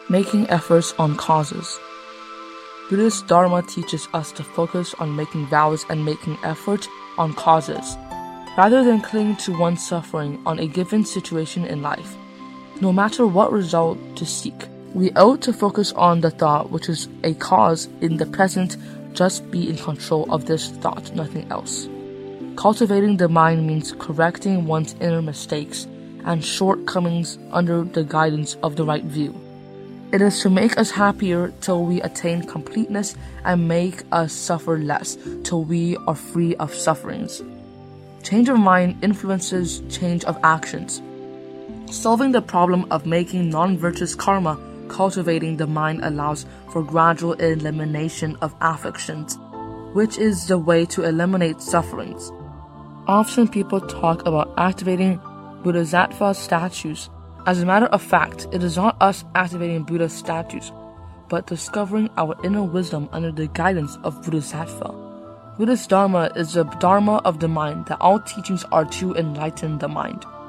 Making efforts on causes. Buddhist Dharma teaches us to focus on making vows and making effort on causes, rather than clinging to one's suffering on a given situation in life. No matter what result to seek, we ought to focus on the thought which is a cause in the present. Just be in control of this thought, nothing else. Cultivating the mind means correcting one's inner mistakes and shortcomings under the guidance of the right view. It is to make us happier till we attain completeness and make us suffer less till we are free of sufferings. Change of mind influences change of actions. Solving the problem of making non-virtuous karma, cultivating the mind allows for gradual elimination of afflictions, which is the way to eliminate sufferings. Often people talk about activating Bodhisattva statues. As a matter of fact, it is not us activating Buddha statues, but discovering our inner wisdom under the guidance of Bodhisattva. Buddhist Dharma is the Dharma of the mind, that all teachings are to enlighten the mind.